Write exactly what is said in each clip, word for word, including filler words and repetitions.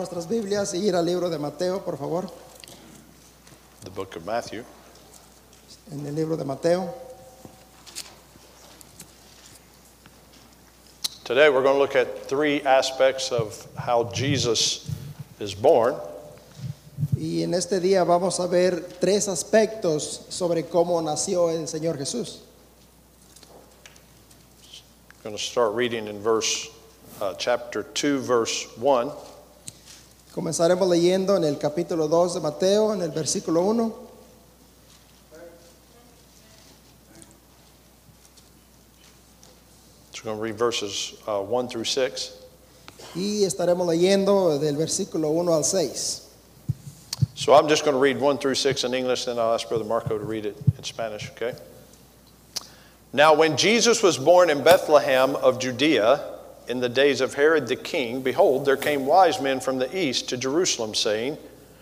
nuestras Biblias y ir al libro de Mateo, por favor. The book of Matthew. En el libro de Mateo. Today we're going to look at three aspects of how Jesus is born. Y en este día vamos a ver tres aspectos sobre cómo nació el Señor Jesús. I'm going to start reading in verse uh, chapter two, verse one. Comenzaremos leyendo en el capítulo dos de Mateo, en el versículo uno. So we're going to read verses uh, one through six. Y estaremos leyendo del versículo uno al seis. So I'm just going to read one through six in English, then I'll ask Brother Marco to read it in Spanish, okay? Now when Jesus was born in Bethlehem of Judea, in the days of Herod the king, behold, there came wise men from the east to Jerusalem, saying,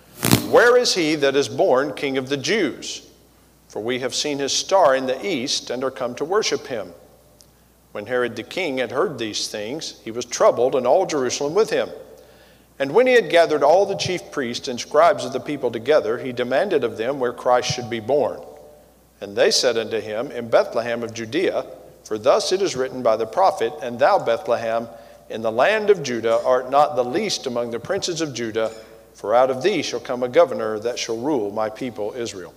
Where is he that is born King of the Jews? For we have seen his star in the east, and are come to worship him. When Herod the king had heard these things, he was troubled, and all Jerusalem with him. And when he had gathered all the chief priests and scribes of the people together, he demanded of them where Christ should be born. And they said unto him, In Bethlehem of Judea, for thus it is written by the prophet, And thou, Bethlehem, in the land of Judah, art not the least among the princes of Judah, for out of thee shall come a governor that shall rule my people Israel.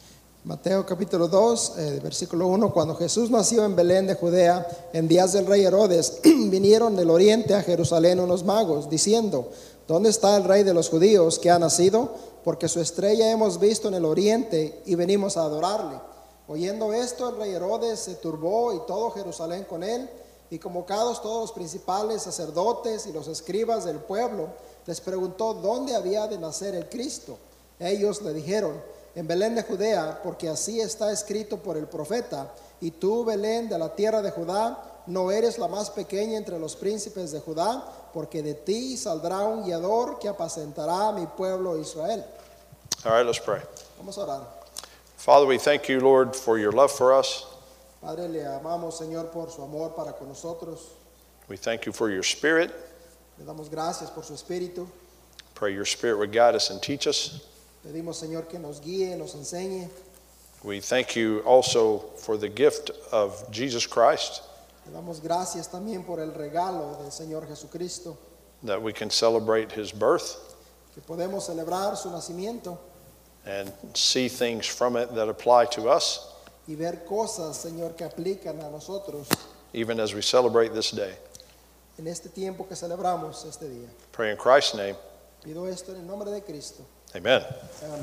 Mateo capítulo dos, eh, versículo uno. Cuando Jesús nació en Belén de Judea, en días del rey Herodes, vinieron del oriente a Jerusalén unos magos, diciendo, ¿dónde está el rey de los judíos que ha nacido? Porque su estrella hemos visto en el oriente y venimos a adorarle. Oyendo esto, el rey Herodes se turbó y todo Jerusalén con él, y convocados todos los principales sacerdotes y los escribas del pueblo, les preguntó dónde había de nacer el Cristo. Ellos le dijeron, en Belén de Judea, porque así está escrito por el profeta, y tú, Belén, de la tierra de Judá, no eres la más pequeña entre los príncipes de Judá, porque de ti saldrá un guiador que apacentará a mi pueblo Israel. All right, let's pray. Vamos a orar. Father, we thank you, Lord, for your love for us. Padre, le amamos, Señor, por su amor para con nosotros. We thank you for your Spirit. Le damos gracias por su espíritu. Pray your Spirit would guide us and teach us. Pedimos, Señor, que nos guíe, nos enseñe. We thank you also for the gift of Jesus Christ, Le damos gracias también por el regalo del Señor Jesucristo, that we can celebrate his birth que podemos celebrar su nacimiento and see things from it that apply to us, y ver cosas, Señor, que aplican a nosotros even as we celebrate this day. en este tiempo que celebramos este día. Pray in Christ's name. Pido esto en el nombre de Cristo. Amen. Amén.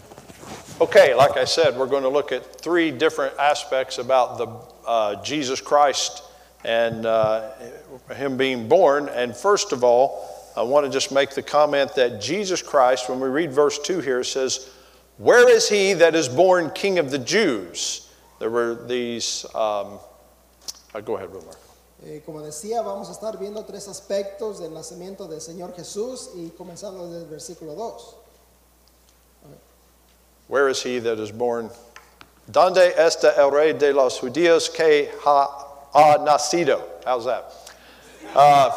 Okay, like I said, we're going to look at three different aspects about the uh, Jesus Christ and uh, him being born. And first of all, I want to just make the comment that Jesus Christ, when we read verse two here, it says, Where is he that is born King of the Jews? There were these, um, uh, go ahead, Brother Mark. Eh, como decía, vamos a estar viendo tres aspectos del nacimiento del Señor Jesús y comenzando desde el versículo dos. Where is he that is born? ¿Dónde está el rey de los judíos que ha, ha nacido? How's that? Uh,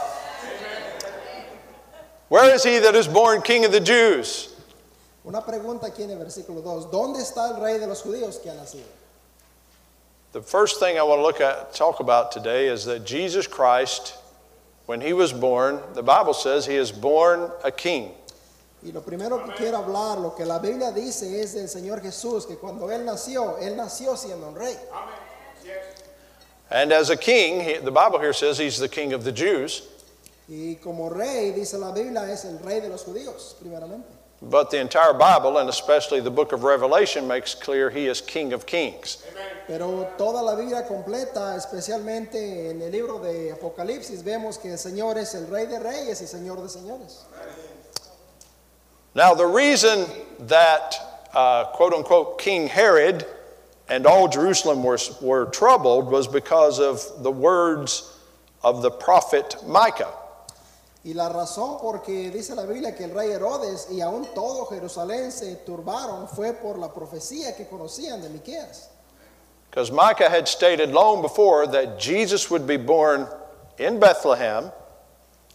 where is he that is born King of the Jews? Una pregunta aquí en el versículo dos. ¿Dónde está el rey de los judíos que ha nacido? The first thing I want to look at, talk about today is that Jesus Christ, when he was born, the Bible says he is born a king. Y lo primero que quiero hablar, lo que la Biblia dice es del Señor Jesús, que cuando Él nació, Él nació siendo un rey. And as a king, he, the Bible here says he's the king of the Jews. Y como rey, dice la Biblia, es el rey de los judíos, primeramente. But the entire Bible, and especially the book of Revelation, makes clear he is King of Kings. Pero toda la Biblia completa, especialmente en el libro de Apocalipsis, vemos que el Señor es el rey de reyes y señor de señores. Now, the reason that, uh, quote unquote, King Herod and all Jerusalem were, were troubled was because of the words of the prophet Micah. Y la razón por que dice la Biblia que el rey Herodes y aún todo Jerusalén se turbaron fue por la profecía que conocían de Miqueas. Because Micah had stated long before that Jesus would be born in Bethlehem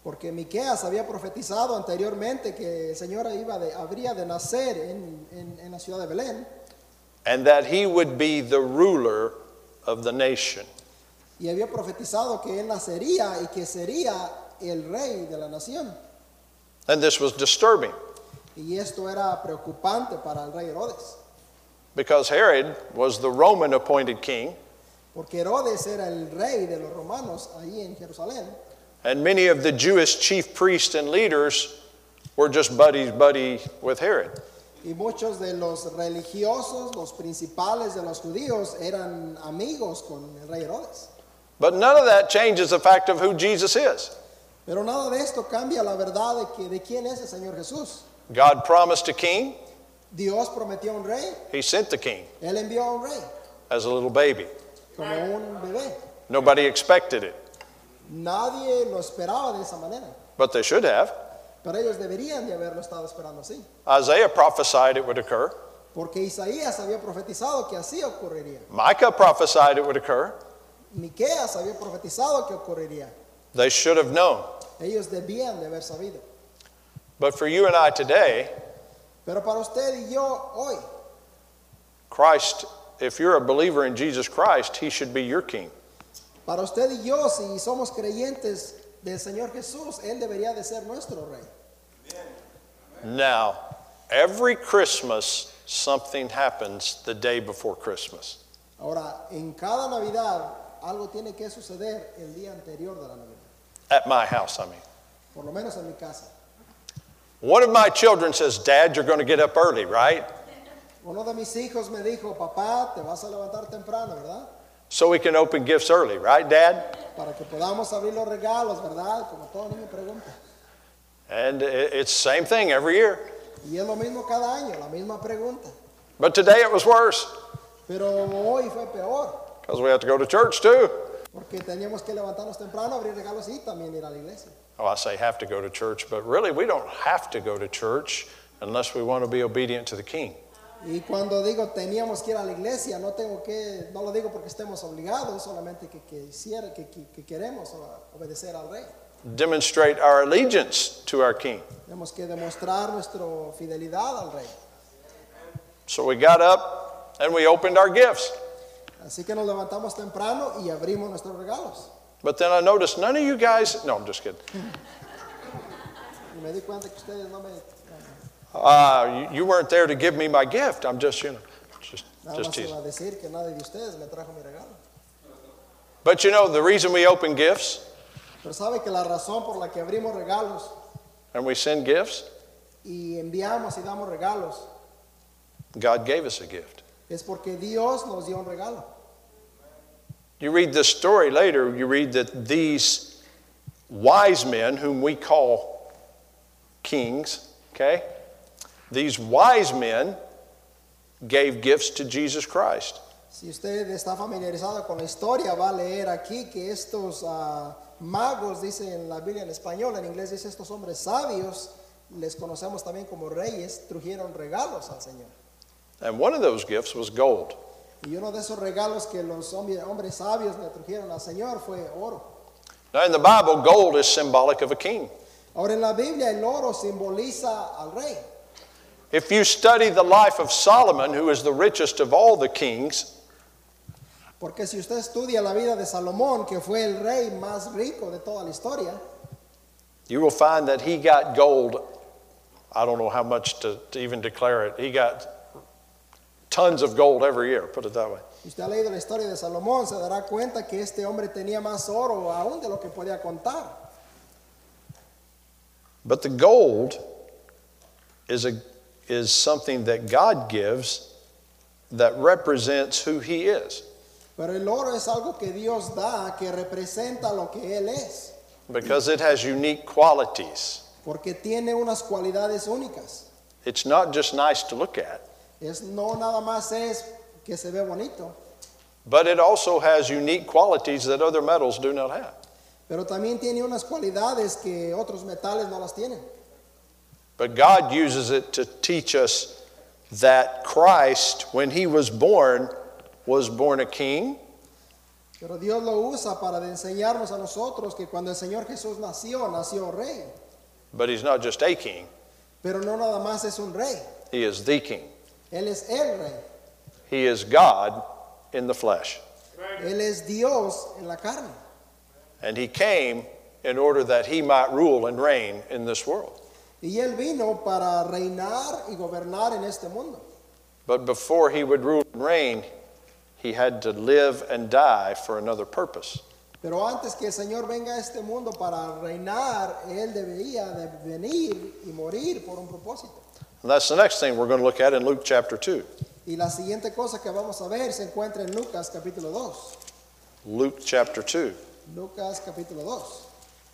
Porque Miqueas había profetizado anteriormente que el Señor iba de, habría de nacer en, en, en la ciudad de Belén. And that he would be the ruler of the nation. Y había profetizado que él nacería y que sería el rey de la nación. And this was disturbing Y esto era preocupante para el rey Herodes. because Herod was the Roman appointed king, Porque Herodes era el rey de los romanos allí en Jerusalén. and many of the Jewish chief priests and leaders were just buddies buddy with Herod. Y muchos de los religiosos, los principales de los judíos, eran amigos con el rey Herodes. But none of that changes the fact of who Jesus is. Pero nada de esto cambia la verdad de, que, de quién es el Señor Jesús. God promised a king, Dios prometió un rey, he sent the king Él envió a un rey, as a little baby. como un bebé. Nobody expected it, Nadie lo esperaba de esa manera, but they should have. pero ellos deberían de haberlo estado esperando así. Isaiah prophesied it would occur. Porque Isaías había profetizado que así ocurriría. Micah prophesied it would occur. Miqueas había profetizado que ocurriría. They should have known. Ellos debían de haber sabido. But for you and I today, Pero para usted y yo hoy, Christ, if you're a believer in Jesus Christ, he should be your king. para usted y yo, si somos creyentes del Señor Jesús, Él debería de ser nuestro rey. Now, every Christmas, something happens the day before Christmas. Ahora, en cada Navidad, algo tiene que suceder el día anterior de la Navidad. At my house, I mean. Por lo menos en mi casa. One of my children says, Dad, you're going to get up early, right? Uno de mis hijos me dijo, papá, te vas a levantar temprano, ¿verdad? So we can open gifts early, right, Dad? Para que podamos abrir los regalos, ¿verdad? Como todo niño pregunta. And it- it's the same thing every year. Y es lo mismo cada año, la misma pregunta. But today it was worse Pero hoy fue peor, because we have to go to church too. porque teníamos que levantarnos temprano, abrir regalos y también ir a la iglesia. Oh, I say have to go to church, but really we don't have to go to church unless we want to be obedient to the king. Y cuando digo teníamos que ir a la iglesia, no tengo que, no lo digo porque estemos obligados, solamente que, que, hiciera- que, que, que queremos obedecer al rey. Demonstrate our allegiance to our king. Tenemos que demostrar nuestra fidelidad al rey. So we got up and we opened our gifts. Así que nos levantamos temprano y abrimos nuestros regalos. But then I noticed none of you guys, no, I'm just kidding. Y me di cuenta que ustedes no me, Uh, you, you weren't there to give me my gift. I'm just, you know, just, nada just más teasing. iba a decir que nadie de ustedes me trajo mi regalo. But you know, the reason we open gifts Pero sabe que la razón por la que abrimos regalos and we send gifts, y enviamos y damos regalos God gave us a gift. es porque Dios nos dio un regalo. You read this story later, you read that these wise men, whom we call kings, okay, these wise men gave gifts to Jesus Christ. Si usted está familiarizado con la historia, va a leer aquí que estos ah, magos, dice en la Biblia en español, en inglés dice estos hombres sabios, les conocemos también como reyes, trajeron regalos al Señor. And one of those gifts was gold. Y uno de esos regalos que los hombres, hombres sabios le trajeron al Señor fue oro. Now in the Bible, gold is symbolic of a king. Ahora en la Biblia el oro simboliza al rey. If you study the life of Solomon, who is the richest of all the kings, Porque si usted estudia la vida de Salomón, que fue el rey más rico de toda la historia, you will find that he got gold. I don't know how much to, to even declare it. He got tons of gold every year, put it that way. si usted ha leído la historia de Salomón, se dará cuenta que este hombre tenía más oro aún de lo que podía contar. But the gold is, a, is something that God gives that represents who he is. Pero el oro es algo que Dios da, que representa lo que Él es, Because it has unique qualities. porque tiene unas cualidades únicas. It's not just nice to look at, Es no nada más es que se ve bonito, but it also has unique qualities that other metals do not have. pero también tiene unas cualidades que otros metales no las tienen. But God uses it to teach us that Christ, when he was born, was born a king, Pero Dios lo usa para enseñarnos a nosotros que cuando el Señor Jesús nació, nació rey. But he's not just a king, Pero no nada más es un rey. he is the king. Él es el rey. He is God in the flesh. Él es Dios en la carne. And he came in order that he might rule and reign in this world. Y Él vino para reinar y gobernar en este mundo. But before he would rule and reign, he had to live and die for another purpose. Pero antes que el Señor venga a este mundo para reinar, Él debería de venir y morir por un propósito. And that's the next thing we're going to look at in Luke chapter two. Y la siguiente cosa que vamos a ver se encuentra en Lucas capítulo dos. Luke chapter two. Lucas capítulo dos.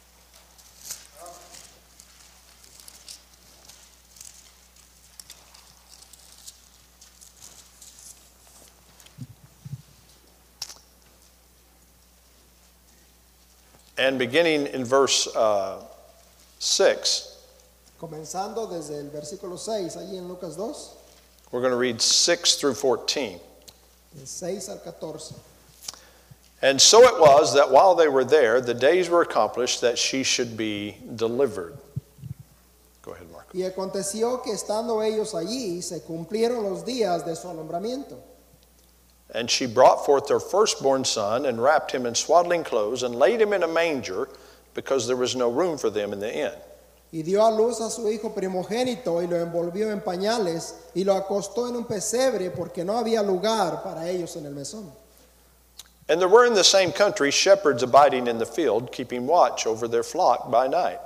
And beginning in verse uh, six, Comenzando desde el versículo seis, allí en Lucas dos, we're going to read six through fourteen. del seis al catorce. And so it was that while they were there, the days were accomplished that she should be delivered. Go ahead, Mark. Y aconteció que estando ellos allí, se cumplieron los días de su alumbramiento. And she brought forth her firstborn son and wrapped him in swaddling clothes and laid him in a manger because there was no room for them in the inn. Y dio a luz a su hijo primogénito y lo envolvió en pañales y lo acostó en un pesebre porque no había lugar para ellos en el mesón. And there were in the same country shepherds abiding in the field, keeping watch over their flock by night.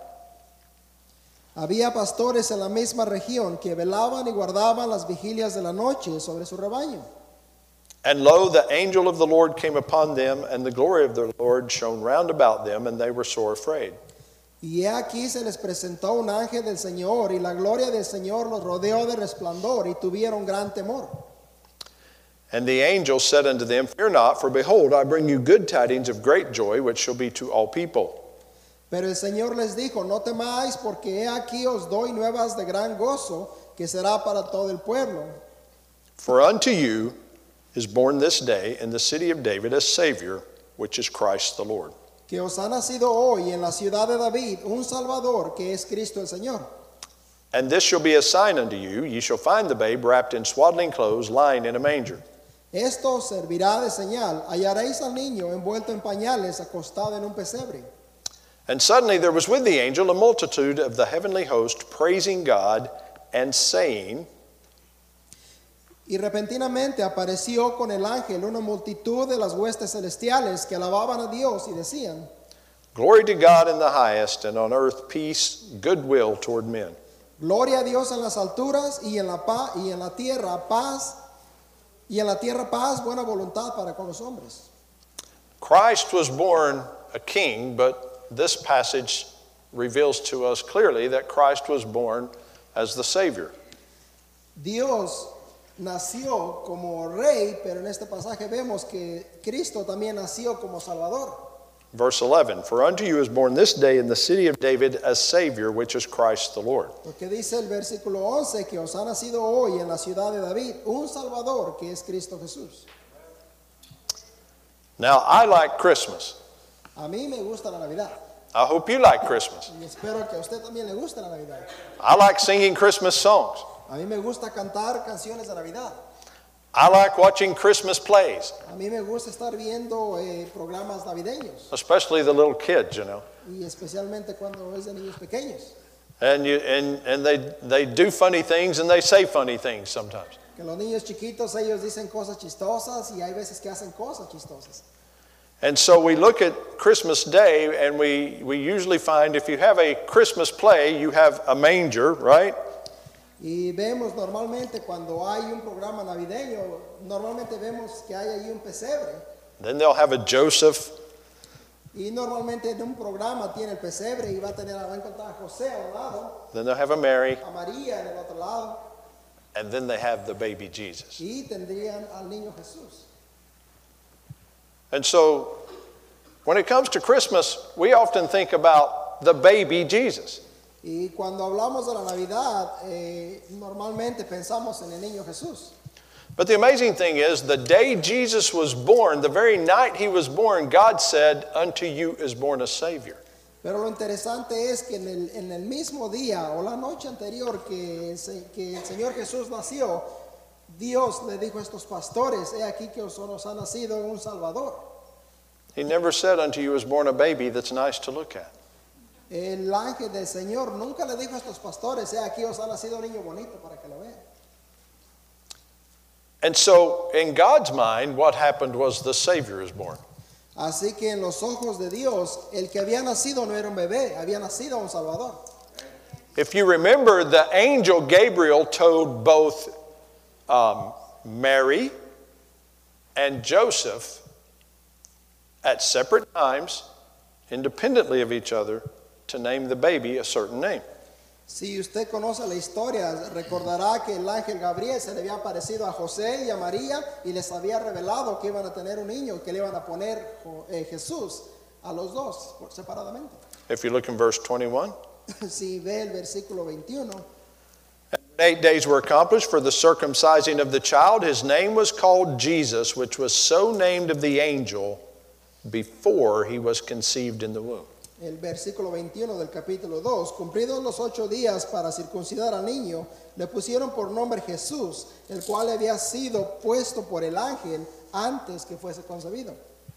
Había pastores en la misma región que velaban y guardaban las vigilias de la noche sobre su rebaño. And lo, the angel of the Lord came upon them, and the glory of the Lord shone round about them, and they were sore afraid. Y he aquí se les presentó un ángel del Señor, y la gloria del Señor los rodeó de resplandor, y tuvieron gran temor. And the angel said unto them, Fear not, for behold, I bring you good tidings of great joy, which shall be to all people. Pero el Señor les dijo, no temáis, porque he aquí os doy nuevas de gran gozo, que será para todo el pueblo. For unto you is born this day in the city of David a Savior, which is Christ the Lord. Que os ha nacido hoy en la ciudad de David un Salvador, que es Cristo el Señor. And this shall be a sign unto you, ye shall find the babe wrapped in swaddling clothes, lying in a manger. Esto servirá de señal. Hallaréis al niño envuelto en pañales, acostado en un pesebre. And suddenly there was with the angel a multitude of the heavenly host, praising God and saying, Y repentinamente apareció con el ángel una multitud de las huestes celestiales que alababan a Dios y decían, Glory to God in the highest, and on earth peace, goodwill toward men. Gloria a Dios en las alturas y en la paz y en la tierra paz y en la tierra paz, buena voluntad para con los hombres. Christ was born a king, but this passage reveals to us clearly that Christ was born as the Savior. Dios nació como rey, pero en este pasaje vemos que Cristo también nació como Salvador. Verse eleven, For unto you is born this day in the city of David a Savior, which is Christ the Lord. Porque dice el versículo once que os ha nacido hoy en la ciudad de David un Salvador, que es Cristo Jesús. Now, I like Christmas. A mí me gusta la Navidad I hope you like Christmas. y espero que a usted también le guste la Navidad. I like singing Christmas songs. A mí me gusta cantar canciones de Navidad. I like watching Christmas plays, A mí me gusta estar viendo eh, programas navideños especially the little kids, you know. y especialmente cuando es de niños pequeños. And you and, and they they do funny things and they say funny things sometimes. Que los niños chiquitos, ellos dicen cosas chistosas y hay veces que hacen cosas chistosas. And so we look at Christmas Day and we, we usually find if you have a Christmas play, you have a manger, right? Y vemos normalmente cuando hay un programa navideño, normalmente vemos que hay ahí un pesebre. Then they'll have a Joseph. Y normalmente en un programa tiene el pesebre y va a tener va a encontrar a José a un lado, Then they'll have a Mary. a María en el otro lado, And then they have the baby Jesus. y tendrían al niño Jesús. And so when it comes to Christmas, we often think about the baby Jesus. Y cuando hablamos de la Navidad, eh, normalmente pensamos en el niño Jesús. But the amazing thing is, the day Jesus was born, the very night he was born, God said, unto you is born a Savior. Pero lo interesante es que en el, en el mismo día o la noche anterior que, se, que el Señor Jesús nació, Dios le dijo a estos pastores, he aquí que os nos ha nacido un Salvador. He never said unto you is born a baby that's nice to look at. El ángel del Señor nunca le dijo a estos pastores, he aquí os ha nacido un niño bonito para que lo vean. And so, in God's mind, what happened was the Savior is born. Así que en los ojos de Dios, el que había nacido no era un bebé, había nacido un Salvador. If you remember, the angel Gabriel told both um, Mary and Joseph at separate times, independently of each other, to name the baby a certain name. Si usted conoce la historia, recordará que el ángel Gabriel se le había aparecido a José y a María y les había revelado que iban a tener un niño y que le iban a poner eh, Jesús a los dos separadamente. If you look in verse twenty-one. Si ve el versículo veintiuno. Eight days were accomplished for the circumcising of the child. His name was called Jesus, which was so named of the angel before he was conceived in the womb. El versículo veintiuno del capítulo dos, cumplidos los ocho días para circuncidar al niño, le pusieron por nombre Jesús, el cual había sido puesto por el ángel antes que fuese concebido.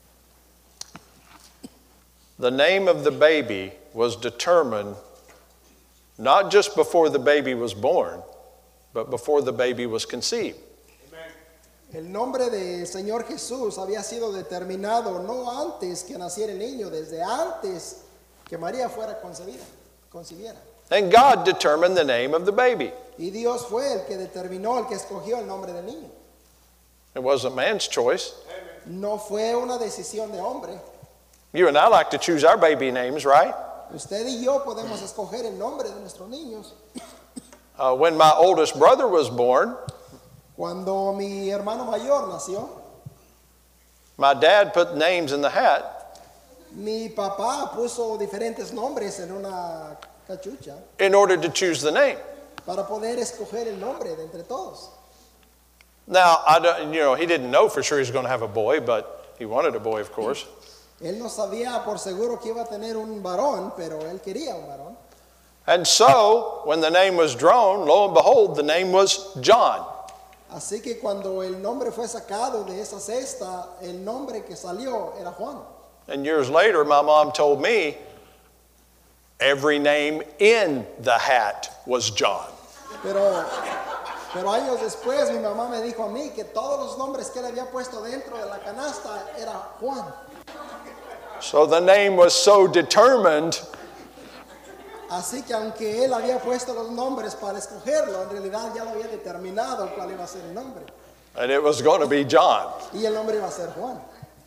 The name of the baby was determined not just before the baby was born, but before the baby was conceived. El nombre del Señor Jesús había sido determinado no antes que naciera el niño, desde antes que María fuera concebida, concibiera. And God determined the name of the baby. Y Dios fue el que determinó, el que escogió el nombre del niño. It wasn't man's choice. No fue una decisión de hombre. You and I like to choose our baby names, right? Usted y yo podemos escoger el nombre de nuestros niños. Uh, when my oldest brother was born, Cuando mi hermano mayor nació, my dad put names in the hat. mi papá puso diferentes nombres en una cachucha In order to choose the name. para poder escoger el nombre de entre todos. Now, I don't, you know, he didn't know for sure he was going to have a boy, but he wanted a boy, of course. Él no sabía por seguro que iba a tener un varón, pero él quería un varón. And so, when the name was drawn, lo and behold, the name was John. Así que cuando el nombre fue sacado de esa cesta, el nombre que salió era Juan. And years later, my mom told me every name in the hat was John. Pero, pero años después mi mamá me dijo a mí que todos los nombres que él había puesto dentro de la canasta era Juan. So the name was so determined. Así que aunque él había puesto los nombres para escogerlo, en realidad ya lo había determinado cuál iba a ser el nombre. And it was going to be John. Y el nombre iba a ser Juan.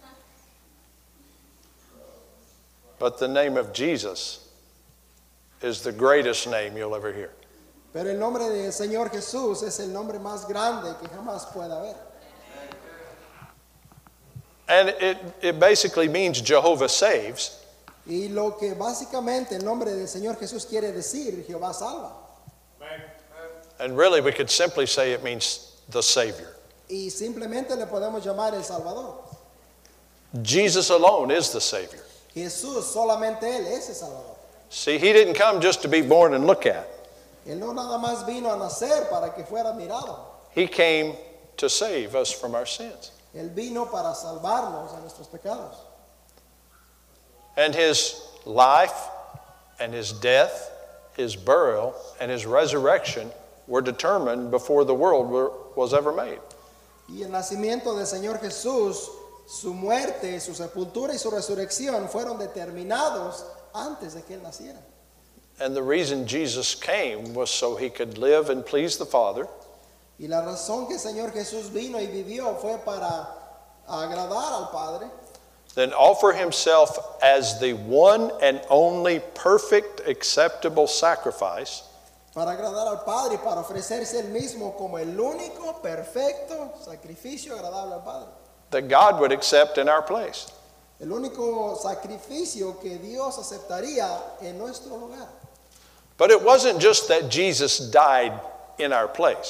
But the name of Jesus is the greatest name you'll ever hear. Pero el nombre del Señor Jesús es el nombre más grande que jamás pueda haber. And it, it basically means Jehovah saves. Y lo que básicamente el nombre del Señor Jesús quiere decir, Jehová salva. And really, we could simply say it means the Savior. Y simplemente le podemos llamar el Salvador. Jesus alone is the Savior. Jesús, solamente Él es el Salvador. See, he didn't come just to be born and look at. Él no nada más vino a nacer para que fuera admirado. He came to save us from our sins. Él vino para salvarnos de nuestros pecados. And his life and his death, his burial and his resurrection were determined before the world were, was ever made. Y el nacimiento del Señor Jesús, su muerte, su sepultura y su resurrección fueron determinados antes de que Él naciera. And the reason Jesus came was so he could live and please the Father. Y la razón que el Señor Jesús vino y vivió fue para agradar al Padre. Then offer himself as the one and only perfect, acceptable sacrifice. Para agradar al Padre y para ofrecerse Él mismo como el único, perfecto sacrificio agradable al Padre. That God would accept in our place. El único sacrificio que Dios aceptaría en nuestro lugar. But it wasn't just that Jesus died in our place.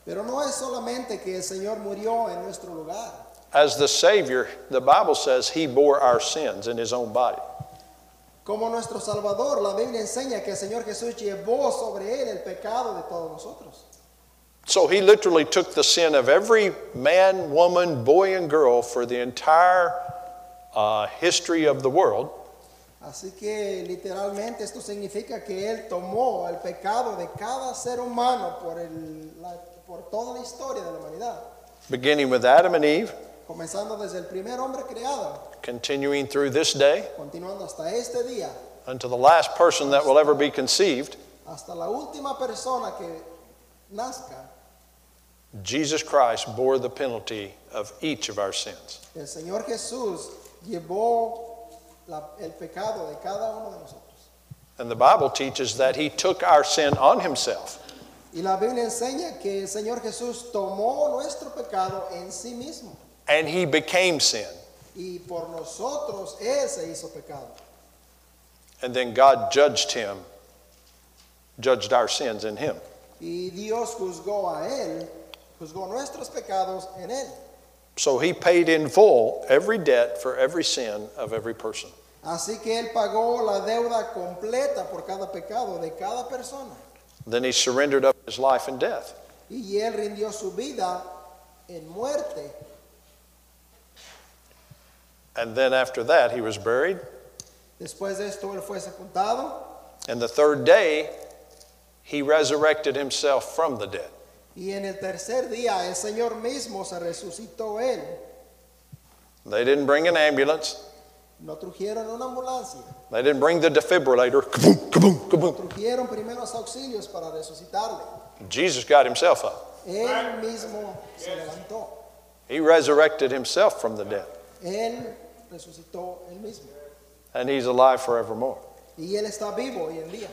Pero no es solamente que el Señor murió en nuestro lugar. As the Savior, the Bible says he bore our sins in his own body. Como nuestro Salvador, la Biblia enseña que el Señor Jesús llevó sobre él el pecado de todos nosotros. So he literally took the sin of every man, woman, boy, and girl for the entire uh, history of the world. Así que literalmente esto significa que él tomó el pecado de cada ser humano por, el, la, por toda la historia de la humanidad. Beginning with Adam and Eve, Comenzando desde el primer hombre creado, continuing through this day, continuando hasta este día, unto the last person that will ever be conceived, hasta la última persona que nazca. Jesus Christ bore the penalty of each of our sins. El Señor Jesús llevó la, el pecado de cada uno de nosotros. And the Bible teaches that he took our sin on himself. Y la Biblia enseña que el Señor Jesús tomó nuestro pecado en sí mismo. And he became sin. Y por nosotros Él se hizo pecado. And then God judged him, judged our sins in him. Y Dios juzgó a Él, juzgó nuestros pecados en Él. So he paid in full every debt for every sin of every person. Así que Él pagó la deuda completa por cada pecado de cada persona. Then he surrendered up his life and death. Y Él rindió su vida en muerte. And then after that he was buried. Después de esto Él fue sepultado. And the third day he resurrected himself from the dead. Y en el tercer día el Señor mismo se resucitó Él. They didn't bring an ambulance. No trajeron una ambulancia. They didn't bring the defibrillator. Kaboom, kaboom, kaboom. Trajeron primeros auxilios para resucitarle. Jesus got himself up. Él mismo se levantó. He resurrected himself from the dead. Él resucitó él mismo. And he's alive forevermore. Y Él está vivo hoy en día.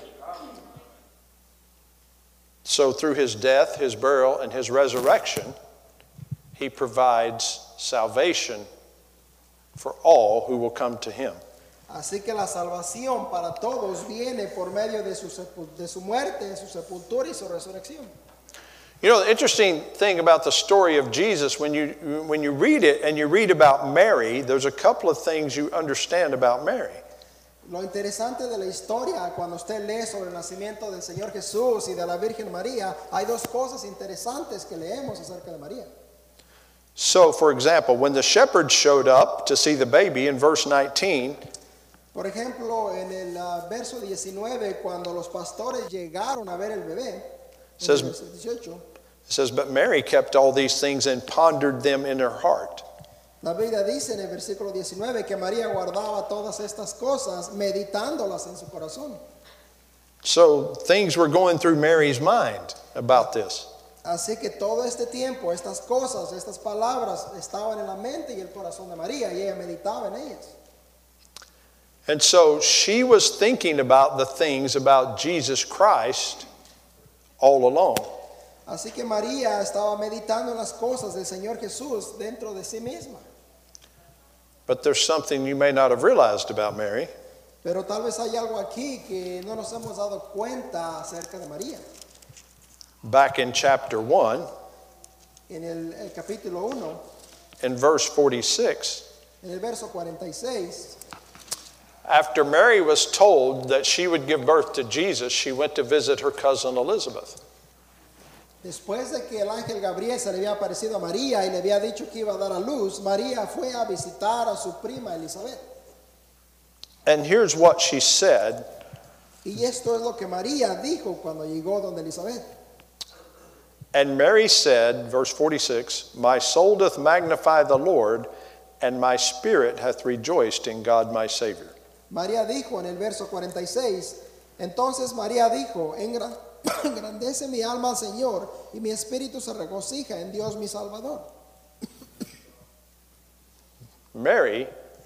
So through his death, his burial, and his resurrection, he provides salvation for all who will come to him. Así que la salvación para todos viene por medio de su, sepul- de su muerte, de su sepultura y su resurrección. You know, the interesting thing about the story of Jesus, when you, when you read it and you read about Mary, there's a couple of things you understand about Mary. Lo interesante de la historia, cuando usted lee sobre el nacimiento del Señor Jesús y de la Virgen María, hay dos cosas interesantes que leemos acerca de María. So, for example, when the shepherds showed up to see the baby in verse nineteen, Por ejemplo, en el uh, verso diecinueve, cuando los pastores llegaron a ver el bebé, Says- en el verso dieciocho, it says, "But Mary kept all these things and pondered them in her heart." la Biblia dice en el versículo diecinueve que María guardaba todas estas cosas, meditándolas en su corazón. So things were going through Mary's mind about this. Así que todo este tiempo, estas cosas, estas palabras estaban en la mente y el corazón de María y ella meditaba en ellas. And so she was thinking about the things about Jesus Christ all along. Así que María estaba meditando en las cosas del Señor Jesús dentro de sí misma. But there's something you may not have realized about Mary. Pero tal vez hay algo aquí que no nos hemos dado cuenta acerca de María. Back in chapter one, En el, el capítulo uno, in verse forty-six, en el verso cuarenta y seis, after Mary was told that she would give birth to Jesus, she went to visit her cousin Elizabeth. después de que el ángel Gabriel se le había aparecido a María y le había dicho que iba a dar a luz, María fue a visitar a su prima Elizabeth. And here's what she said. Y esto es lo que María dijo cuando llegó donde Elizabeth. And Mary said, verse forty-six, "My soul doth magnify the Lord, and my spirit hath rejoiced in God my Savior." María dijo en el verso cuarenta y seis, entonces María dijo, "Engra- engrandece mi alma al Señor y mi espíritu se regocija en Dios mi Salvador." Mary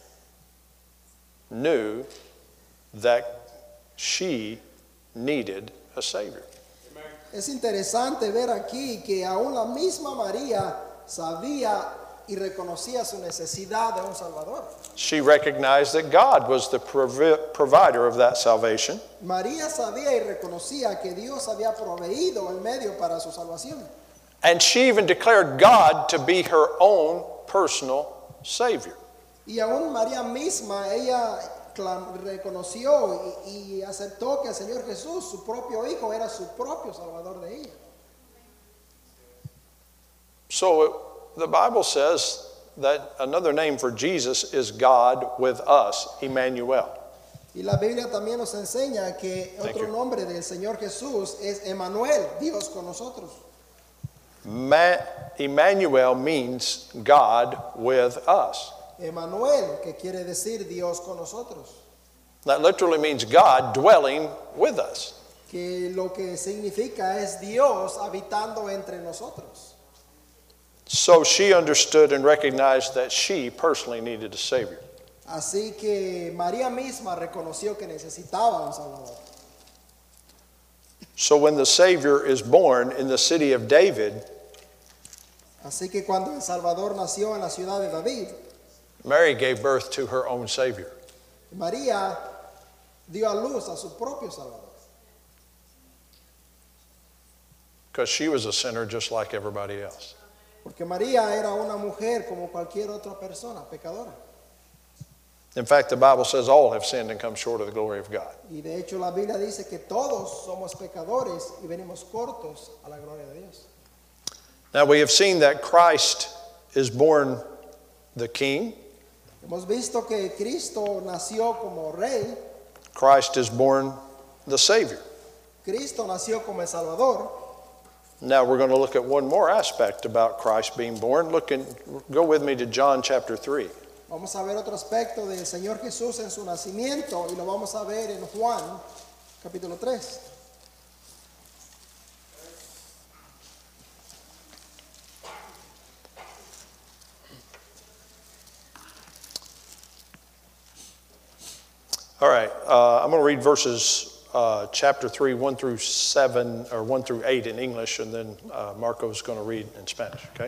knew that she needed a Savior. Es interesante ver aquí que aún la misma María sabía y reconocía su necesidad de un Salvador. She recognized that God was the provi- provider of that salvation. María sabía y reconocía que Dios había proveído el medio para su salvación. And she even declared God to be her own personal Savior. Y aún María misma, ella reconoció y, y aceptó que el Señor Jesús, su propio Hijo, era su propio Salvador de ella. So the Bible says that another name for Jesus is God with us, Emmanuel. Y la Biblia también nos enseña que otro nombre del Señor Jesús es Emmanuel, Dios con nosotros. Ma- Emmanuel means God with us. Emmanuel, que quiere decir Dios con nosotros. That literally means God dwelling with us. Que lo que significa es Dios habitando entre nosotros. So she understood and recognized that she personally needed a Savior. Así que María misma reconoció que necesitaba un Salvador. So when the Savior is born in the city of David, Así que cuando el Salvador nació en la ciudad de David, Mary gave birth to her own Savior. María dio a luz a su propio Salvador. Because she was a sinner just like everybody else. Porque María era una mujer como cualquier otra persona, pecadora. In fact, the Bible says all have sinned and come short of the glory of God. Y de hecho la Biblia dice que todos somos pecadores y venimos cortos a la gloria de Dios. Now we have seen that Christ is born the King. Hemos visto que Cristo nació como rey, Christ is born the Savior. Cristo nació como el Salvador. Now we're going to look at one more aspect about Christ being born. Look and go with me to John chapter three. Vamos a ver otro aspecto del Señor Jesús en su nacimiento y lo vamos a ver en Juan capítulo tres. All right, uh, I'm going to read verses uh, chapter three, one through seven, or one through eight in English, and then uh, Marco's going to read in Spanish, okay?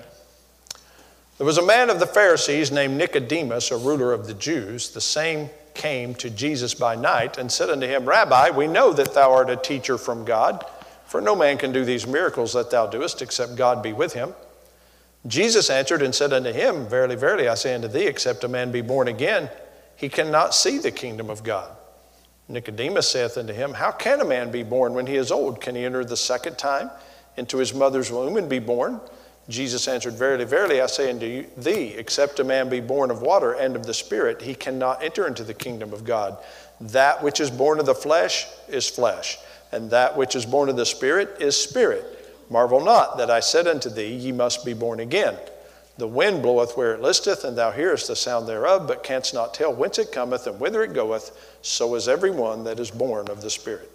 There was a man of the Pharisees named Nicodemus, a ruler of the Jews. The same came to Jesus by night and said unto him, Rabbi, we know that thou art a teacher from God, for no man can do these miracles that thou doest, except God be with him. Jesus answered and said unto him, Verily, verily, I say unto thee, except a man be born again, he cannot see the kingdom of God. Nicodemus saith unto him, How can a man be born when he is old? Can he enter the second time into his mother's womb and be born? Jesus answered, Verily, verily, I say unto thee, except a man be born of water and of the Spirit, he cannot enter into the kingdom of God. That which is born of the flesh is flesh, and that which is born of the Spirit is spirit. Marvel not that I said unto thee, Ye must be born again. The wind bloweth where it listeth, and thou hearest the sound thereof, but canst not tell whence it cometh and whither it goeth. So is every one that is born of the Spirit.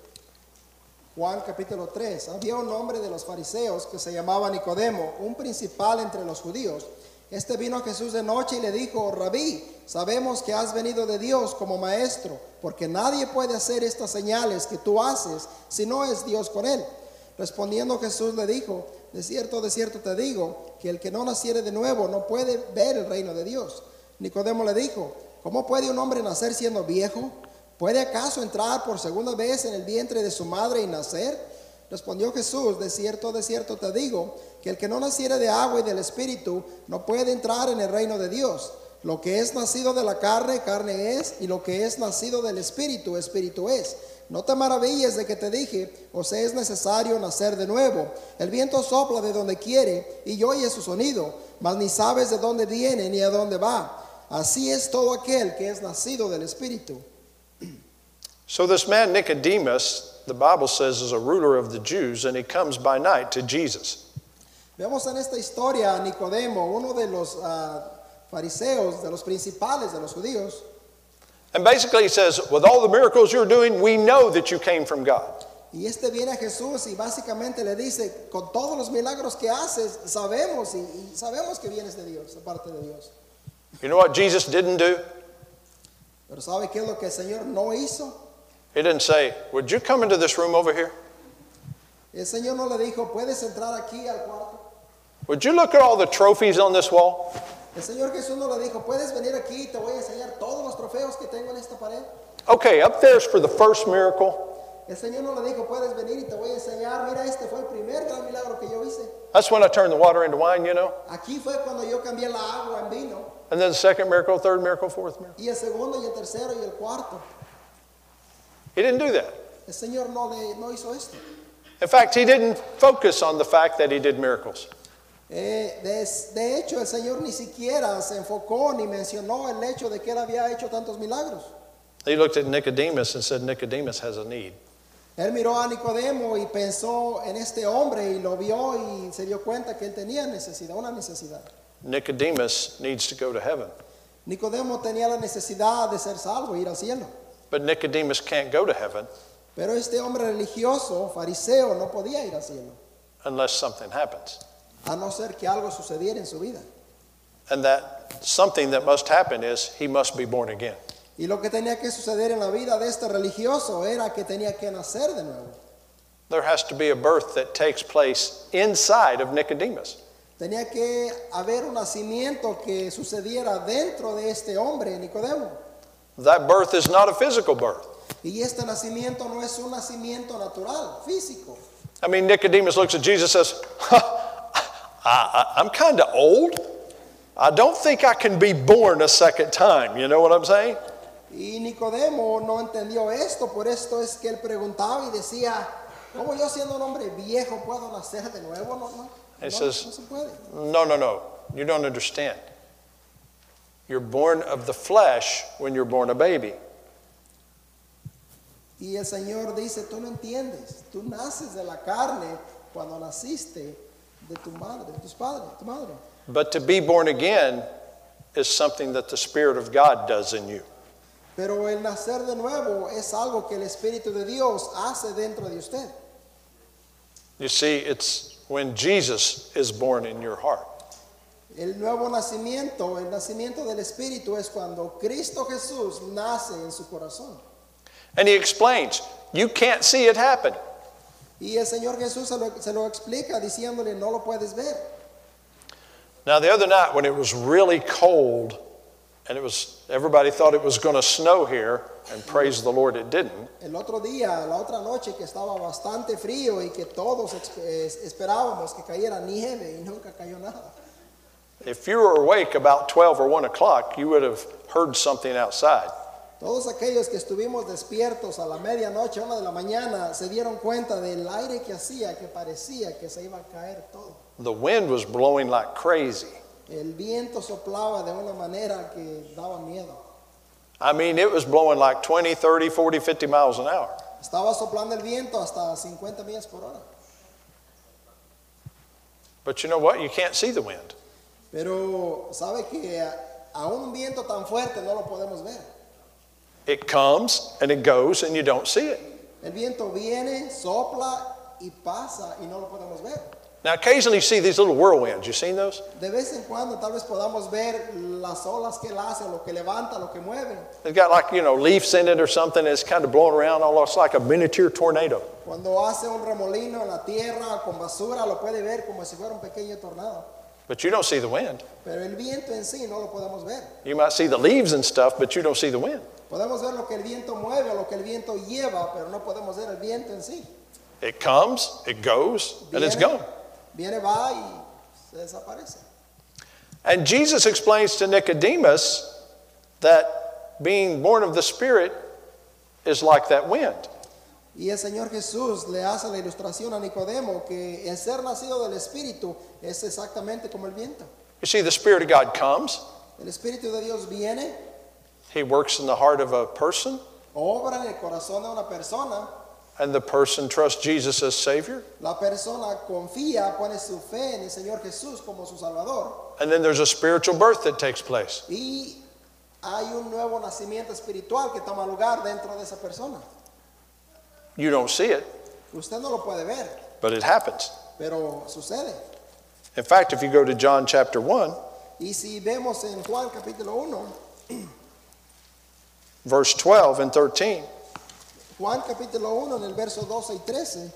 Juan capítulo tres. Había un hombre de los fariseos que se llamaba Nicodemo, un principal entre los judíos. Este vino a Jesús de noche y le dijo, Rabí, sabemos que has venido de Dios como maestro, porque nadie puede hacer estas señales que tú haces si no es Dios con él. Respondiendo Jesús le dijo, de cierto, de cierto te digo, que el que no naciere de nuevo no puede ver el reino de Dios. Nicodemo le dijo, ¿cómo puede un hombre nacer siendo viejo? ¿Puede acaso entrar por segunda vez en el vientre de su madre y nacer? Respondió Jesús, de cierto, de cierto te digo, que el que no naciere de agua y del Espíritu no puede entrar en el reino de Dios. Lo que es nacido de la carne, carne es, y lo que es nacido del Espíritu, Espíritu es. No te maravilles de que te dije, os es necesario nacer de nuevo. El viento sopla de donde quiere y oye su sonido, mas ni sabes de dónde viene ni a dónde va. Así es todo aquel que es nacido del Espíritu. So this man Nicodemus, the Bible says, is a ruler of the Jews, and he comes by night to Jesus. Vemos en esta historia a Nicodemo, uno de los uh, fariseos, de los principales de los judíos. And basically he says, with all the miracles you're doing, we know that you came from God. Y este viene a Jesús y básicamente le dice, con todos los milagros que haces, sabemos y, y sabemos que vienes de Dios, de parte de Dios. You know what Jesus didn't do? Pero ¿sabe qué es lo que el Señor no hizo? He didn't say, would you come into this room over here? El Señor no le dijo, ¿puedes entrar aquí al cuarto? Would you look at all the trophies on this wall? El Señor Jesús no le dijo, ¿puedes venir aquí y te voy a enseñar todos los trofeos que tengo en esta pared? Okay, up there's for the first miracle. el Señor no le dijo, puedes venir y te voy a enseñar, mira, este fue el primer gran milagro que yo hice. That's when I turned the water into wine, you know. Aquí fue cuando yo cambié la agua en vino. And then the second miracle, third miracle, fourth miracle. Y el segundo y el tercero y el cuarto. He didn't do that. El Señor no, le, no hizo esto. In fact, he didn't focus on the fact that he did miracles. Eh, de, de hecho, el Señor ni siquiera se enfocó ni mencionó el hecho de que él había hecho tantos milagros. He looked at Nicodemus and said, Nicodemus has a need. Él miró a Nicodemo y pensó en este hombre y lo vio y se dio cuenta que él tenía necesidad, una necesidad. Nicodemus needs to go to heaven. Nicodemo tenía la necesidad de ser salvo, ir al cielo. But Nicodemus can't go to heaven Pero este hombre religioso, fariseo, no podía ir al cielo, unless something happens. a no ser que algo sucediera en su vida. And that something that must happen is he must be born again. Y lo que tenía que suceder en la vida de este religioso era que tenía que nacer de nuevo. There has to be a birth that takes place inside of Nicodemus. Tenía que haber un nacimiento que sucediera dentro de este hombre, Nicodemo. That birth is not a physical birth. Y este nacimiento no es un nacimiento natural, físico. I mean, Nicodemus looks at Jesus and says, I, I, I'm kind of old. I don't think I can be born a second time. You know what I'm saying? Y Nicodemo no entendió esto, por esto es que él preguntaba y decía, ¿cómo yo siendo un hombre viejo puedo nacer de nuevo? No, no, He no, says, no se puede. No, no, no. You don't understand. You're born of the flesh when you're born a baby. Y el Señor dice, tú no entiendes, tú naces de la carne cuando naciste de tu madre, de tus padres, tu madre. But to be born again is something that the Spirit of God does in you. Pero el nacer de nuevo es algo que el Espíritu de Dios hace dentro de usted. You see, it's when Jesus is born in your heart. El nuevo nacimiento, el nacimiento del Espíritu es cuando Cristo Jesús nace en su corazón. And he explains, you can't see it happen. Y el Señor Jesús se lo, se lo explica diciéndole, no lo puedes ver. Now, the other night when it was really cold, and it was everybody thought it was going to snow here, and praise the Lord it didn't. El otro día, la otra noche que estaba bastante frío y que todos esperábamos que cayera nieve y nunca cayó nada. If you were awake about twelve or one o'clock, you would have heard something outside. Todos aquellos que estuvimos despiertos a la medianoche, una de la mañana, se dieron cuenta del aire que hacía, que parecía que se iba a caer todo. The wind was blowing like crazy. El viento soplaba de una manera que daba miedo. I mean, it was blowing like twenty, thirty, forty, fifty miles an hour. Estaba soplando el viento hasta cincuenta millas por hora. But you know what? You can't see the wind. Pero sabe que aún un viento tan fuerte no lo podemos ver. It comes and it goes and you don't see it. El viento viene, sopla y pasa y no lo podemos ver. Now, occasionally you see these little whirlwinds. You seen those? De vez en cuando tal vez podamos ver las olas que él hace, lo que levanta, lo que mueve. It's got like, you know, leaves in it or something. It's kind of blowing around almost like a miniature tornado. Cuando hace un remolino en la tierra con basura, lo puede ver como si fuera un pequeño tornado. But you don't see the wind. Pero el viento en sí no lo podemos ver. You might see the leaves and stuff, but you don't see the wind. Podemos ver lo que el viento mueve o lo que el viento lleva, pero no podemos ver el viento en sí. It comes, it goes, and it's Viene, gone. viene, va y se desaparece. And Jesus explains to Nicodemus that being born of the Spirit is like that wind. Y el Señor Jesús le hace la ilustración a Nicodemo que el ser nacido del Espíritu es exactamente como el viento. You see, the Spirit of God comes. El Espíritu de Dios viene, He works in the heart of a person, obra en el corazón de una persona. and the person trusts Jesus as Savior. La persona confía, pone su fe en el Señor Jesús como su Salvador. And then there's a spiritual birth that takes place. Y hay un nuevo nacimiento espiritual que toma lugar dentro de esa persona. You don't see it, Usted no lo puede ver, but it happens. pero sucede. In fact, if you go to John chapter one, Y si vemos en Juan capítulo uno, verse twelve and thirteen, Juan capítulo uno en el verso doce y trece,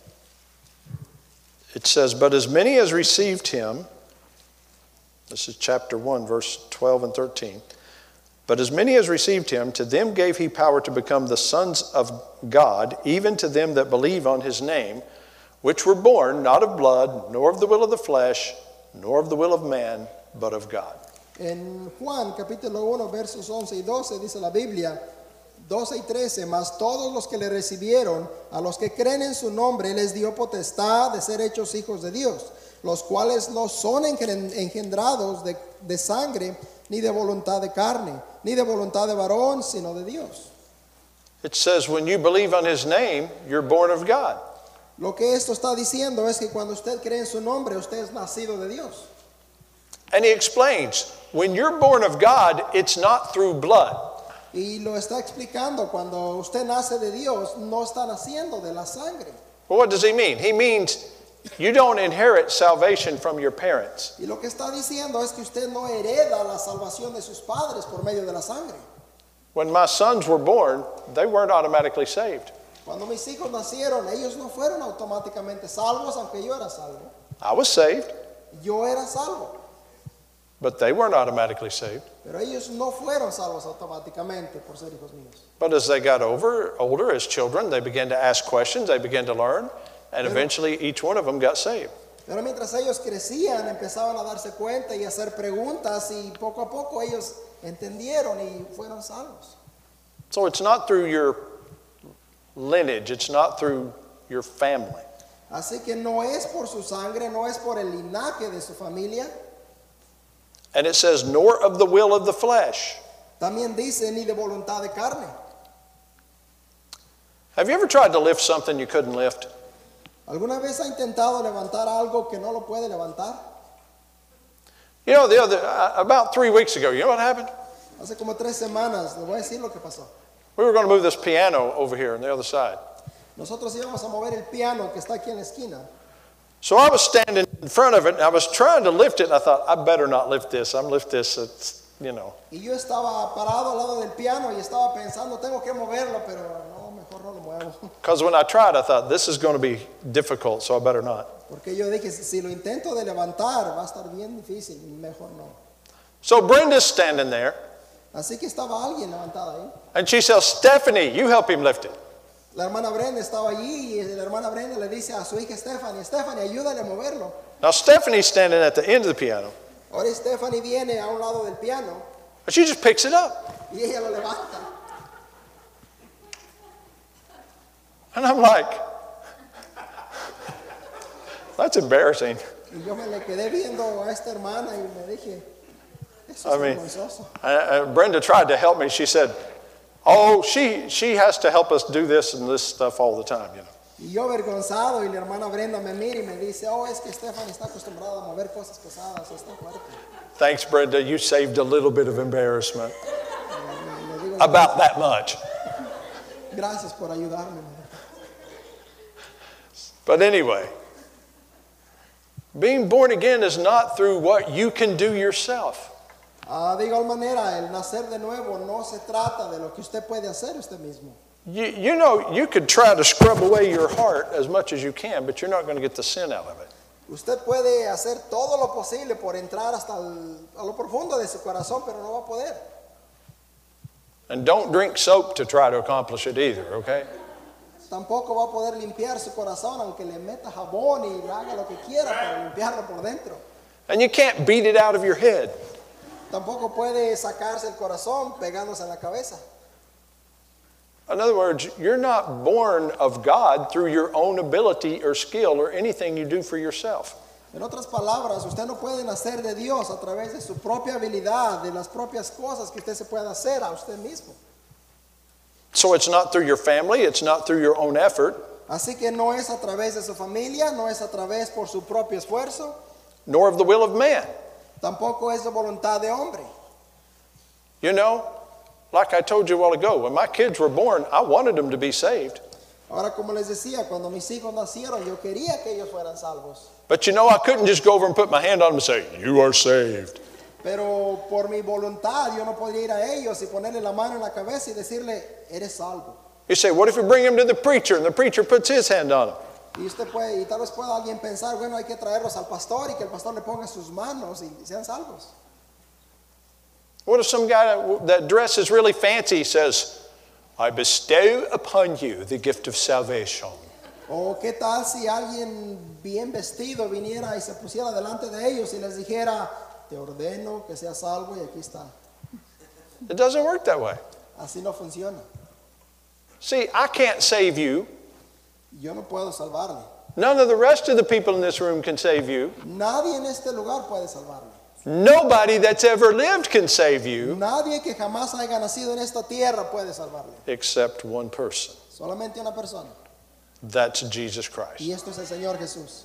it says, But as many as received him, this is chapter one, verse twelve and thirteen, But as many as received him, to them gave he power to become the sons of God, even to them that believe on his name, which were born not of blood, nor of the will of the flesh, nor of the will of man, but of God. En Juan capítulo uno versos once y doce dice la Biblia, doce y trece, mas todos los que le recibieron, a los que creen en su nombre, les dio potestad de ser hechos hijos de Dios, los cuales no son engendrados de, de sangre, ni de voluntad de carne, ni de voluntad de varón, sino de Dios. It says when you believe on his name, you're born of God. Lo que esto está diciendo es que cuando usted cree en su nombre, usted es nacido de Dios. And he explains, when you're born of God, it's not through blood. Y lo está explicando, cuando usted nace de Dios, no está naciendo de la sangre. Well, what does he mean? He means you don't inherit salvation from your parents. Y lo que está diciendo es que usted no hereda la salvación de sus padres por medio de la sangre. When my sons were born, they weren't automatically saved. Cuando mis hijos nacieron, ellos no fueron automáticamente salvos, aunque yo era salvo. I was saved, Yo era salvo, but they weren't automatically saved. pero ellos no fueron salvos automáticamente por ser hijos míos. But as they got over, older, as children, they began to ask questions, they began to learn, and eventually each one of them got saved. Pero mientras ellos crecían, empezaban a darse cuenta y a hacer preguntas, y poco a poco ellos entendieron y fueron salvos. So it's not through your lineage, it's not through your family. Así que no es por su sangre, no es por el linaje de su familia. And it says, nor of the will of the flesh. También dice, ni de voluntad de carne. Have you ever tried to lift something you couldn't lift? ¿Alguna vez ha intentado levantar algo que no lo puede levantar? You know, the other, uh, about three weeks ago, you know what happened? Hace como tres semanas, le voy a decir lo que pasó. We were going to move this piano over here on the other side. Nosotros íbamos a mover el piano que está aquí en la esquina. So I was standing in front of it, and I was trying to lift it, and I thought, I better not lift this. I'm lift this, it's, you know. Y yo estaba parado al lado del piano y estaba pensando, tengo que moverlo, pero no, mejor no lo muevo. Because when I tried, I thought, this is going to be difficult, so I better not. Porque yo dije, si, si lo intento de levantar, va a estar bien difícil, mejor no. So Brenda's standing there, Así que estaba alguien levantada ahí. and she says, Stephanie, you help him lift it. La hermana Brenda estaba allí y la hermana Brenda le dice a su hija Stephanie, Stephanie, ayúdale a moverlo. Now Stephanie's standing at the end of the piano, Ahora Stephanie viene a un lado del piano but she just picks it up. y ella lo levanta. And I'm like, that's embarrassing. Y yo me le quedé viendo a esta hermana y me dije, eso I es mean, vergonzoso. uh, Brenda tried to help me. She said, oh, she, she has to help us do this and this stuff all the time, you know. Y yo avergonzado y la hermana Brenda me mira y me dice, oh, es que Stephanie está acostumbrada a mover cosas pesadas, está fuerte. Thanks, Brenda. You saved a little bit of embarrassment. Y le digo, About that much. gracias por ayudarme. But anyway, being born again is not through what you can do yourself. Ah, de igual manera, el nacer de nuevo no se trata de lo que usted puede hacer usted mismo. You, you know, you could try to scrub away your heart as much as you can, but you're not going to get the sin out of it. Usted puede hacer todo lo posible por entrar hasta el, a lo profundo de su corazón, pero no va a poder. And don't drink soap to try to accomplish it either, okay? Tampoco va a poder limpiar su corazón, aunque le meta jabón y haga lo que quiera para limpiarlo por dentro. And you can't beat it out of your head. Tampoco puede sacarse el corazón pegándose en la cabeza. In other words, you're not born of God through your own ability or skill or anything you do for yourself. En otras palabras, usted no puede nacer de Dios a través de su propia habilidad, de las propias cosas que usted se puede hacer a usted mismo. So it's not through your family, it's not through your own effort, Así que no es a través de su familia, no es a través por su propio esfuerzo, nor of the will of man. tampoco es de voluntad de hombre. You know, like I told you a while ago, when my kids were born, I wanted them to be saved. Ahora, como les decía, cuando mis hijos nacieron, yo quería que ellos fueran salvos. But you know, I couldn't just go over and put my hand on them and say, you are saved. Pero por mi voluntad, yo no podía ir a ellos y ponerle la mano en la cabeza y decirle, eres salvo. You say, what if you bring them to the preacher and the preacher puts his hand on them? Y usted puede, y tal vez pueda alguien pensar, bueno, hay que traerlos al pastor y que el pastor le ponga sus manos y sean salvos. What if some guy that dresses really fancy says, I bestow upon you the gift of salvation? O qué tal si alguien bien vestido viniera y se pusiera delante de ellos y les dijera, te ordeno que seas salvo y aquí está. It doesn't work that way. Así no funciona. See, I can't save you. Yo no puedo salvarle. None of the rest of the people in this room can save you. Nadie en este lugar puede salvarle. Nobody that's ever lived can save you Nadie que jamás haya nacido en esta tierra puede salvarle. except one person. Solamente una persona. That's Jesus Christ. Y esto es el Señor Jesús.